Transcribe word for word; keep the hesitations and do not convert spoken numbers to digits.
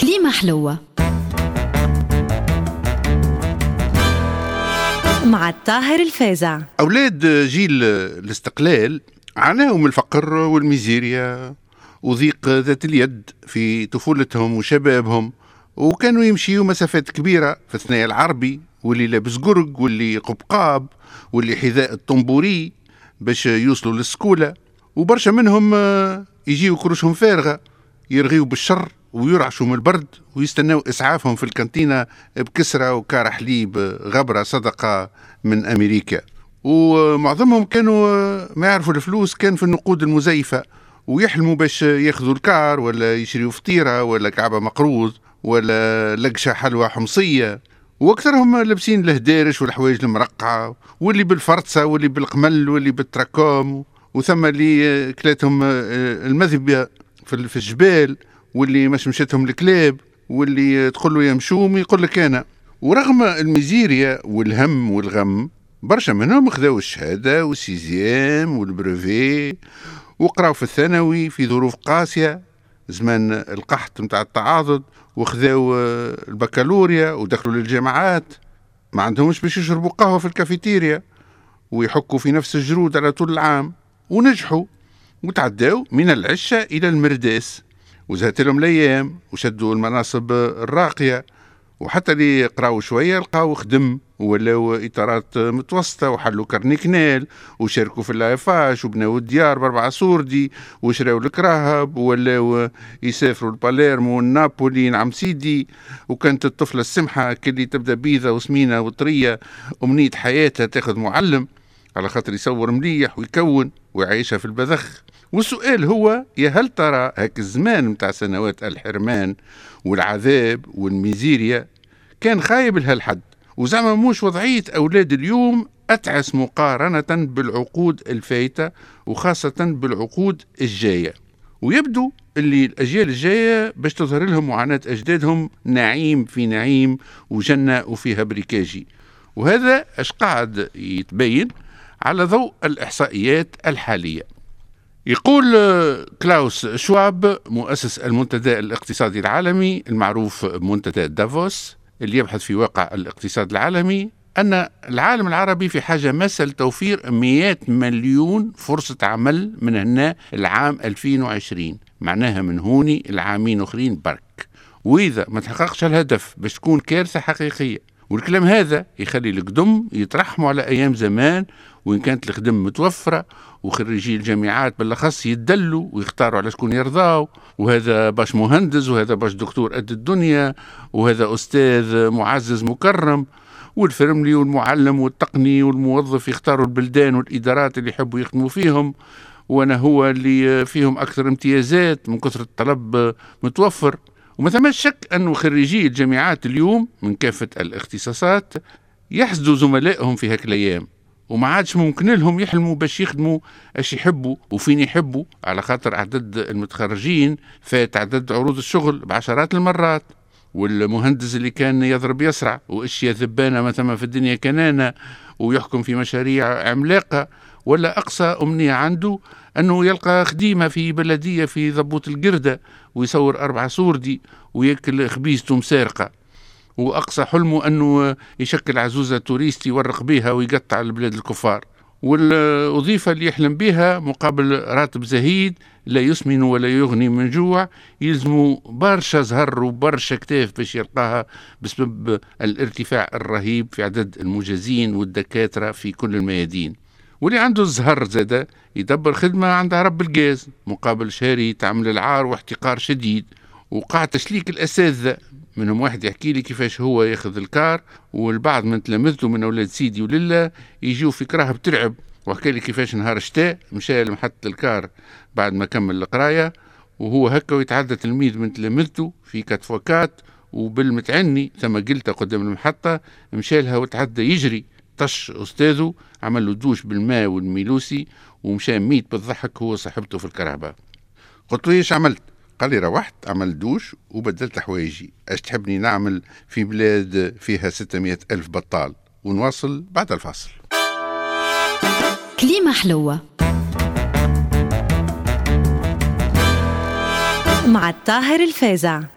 كليمة حلوة مع الطاهر الفازع. أولاد جيل الاستقلال عانوا من الفقر والميزيريا وضيق ذات اليد في طفولتهم وشبابهم، وكانوا يمشيوا مسافات كبيرة في الثنايا العربي، واللي لابس قرق واللي قبقاب واللي حذاء الطنبوري باش يوصلوا للسكولة، وبرشا منهم يجيوا كروشهم فارغة يرغيوا بالشر ويرعشوا من البرد ويستنوا إسعافهم في الكانتينة بكسرة وكار حليب غبرة صدقة من أمريكا. ومعظمهم كانوا ما يعرفوا الفلوس كان في النقود المزيفة، ويحلموا باش ياخذوا الكار ولا يشريوا فطيرة ولا كعبة مقروض ولا لقشة حلوى حمصية، واكثرهم لابسين الهدارش والحوايج المرقعة، واللي بالفرصة واللي بالقمل واللي بالتراكوم، وثم اللي كلاتهم المذبة في الجبال، واللي مش مشتهم الكلاب، واللي تقول له يمشوم يقول لك أنا. ورغم الميزيريا والهم والغم برشا منهم خذوا الشهادة والسيزيام والبروفي وقراوا في الثانوي في ظروف قاسية زمان القحط متاع التعاضد، وخذوا البكالوريا ودخلوا للجامعات ما عندهمش باش يشربوا قهوة في الكافيتيريا ويحكوا في نفس الجرود على طول العام، ونجحوا وتعداوا من العشة إلى المرداس وزهت لهم الأيام وشدوا المناصب الراقية، وحتى اللي قراوا شوية لقاو خدم ولاو إطارات متوسطة وحلوا كارنيكنال وشاركوا في اللايفاش وبناو الديار باربعة سوردي وشراو الكراهب ولاو يسافروا الباليرمو والنابولي نعم سيدي. وكانت الطفلة السمحة كلي تبدأ بيضة وسمينة وطرية أمنية حياتها تاخذ معلم على خاطر يصور مليح ويكون ويعيشها في البذخ. والسؤال هو يا هل ترى هاك الزمان متاع سنوات الحرمان والعذاب والميزيريا كان خايب لهالحد، وزعما موش وضعية أولاد اليوم أتعس مقارنة بالعقود الفايتة وخاصة بالعقود الجاية؟ ويبدو اللي الأجيال الجاية باش تظهر لهم معاناة أجدادهم نعيم في نعيم وجنة وفيها بريكاجي، وهذا اش قاعد يتبين على ضوء الإحصائيات الحالية. يقول كلاوس شواب مؤسس المنتدى الاقتصادي العالمي المعروف بمنتدى دافوس اللي يبحث في واقع الاقتصاد العالمي أن العالم العربي في حاجة ماسة لتوفير مئة مليون فرصة عمل من هنا العام ألفين وعشرين، معناها من هوني العامين أخرين برك، وإذا ما تحققش الهدف باش تكون كارثة حقيقية. والكلام هذا يخلي القدم يترحموا على أيام زمان وإن كانت الخدم متوفرة، وخريجي الجامعات بالأخص يدلوا ويختاروا على شكون يرضاو، وهذا باش مهندس وهذا باش دكتور قد الدنيا وهذا أستاذ معزز مكرم، والفرملي والمعلم والتقني والموظف يختاروا البلدان والإدارات اللي يحبوا يخدموا فيهم، وأنا هو اللي فيهم أكثر امتيازات من كثرة الطلب متوفر. وما ثماش شك أنه خريجي الجامعات اليوم من كافة الاختصاصات يحسدوا زملائهم في هاك الأيام، وما عادش ممكن لهم يحلموا باش يخدموا اش يحبوا وفين يحبوا، على خاطر عدد المتخرجين فات عدد عروض الشغل بعشرات المرات. والمهندس اللي كان يضرب يسرع واشياء ذبانة ما ثم في الدنيا كنانة ويحكم في مشاريع عملاقة، ولا أقصى أمنية عنده أنه يلقى خديمة في بلدية في ضبوط القردة ويصور أربعة سوردي ويأكل خبيزته مسارقة، وأقصى حلمه أنه يشكل عزوزة توريستي يورق بيها ويقطع البلاد الكفار. والوظيفة اللي يحلم بها مقابل راتب زهيد لا يسمن ولا يغني من جوع يلزموا برشا زهر وبرشا كتاف باش يلقاها بسبب الارتفاع الرهيب في عدد المجازين والدكاترة في كل الميادين. واللي عنده الزهر زادة يدبر خدمة عندها رب الجاز مقابل شهري تعمل العار واحتقار شديد. وقع تشليك الأساتذة، منهم واحد يحكي لي كيفاش هو ياخذ الكار والبعض من تلامذته من أولاد سيدي ولله يجوا في كراه بترعب، وحكى لي كيفاش نهار شتاء مشى لمحطة الكار بعد ما كمل القراية وهو هكا ويتعدى تلميذ من تلامذته في كاتفوكات وبالمتعني ثم قلته قدام المحطة مشى لها وتعدى يجري طش أستاذه عمل له دوش بالماء والميلوسي ومشى ميت بالضحك هو صاحبته في الكرهبة. قلت له ايش عملت؟ قال لي روحت عمل دوش وبدلت حوايجي، اش تحبني نعمل في بلاد فيها ستمائة ألف بطال؟ ونواصل بعد الفاصل. كليمة حلوة مع الطاهر الفازع.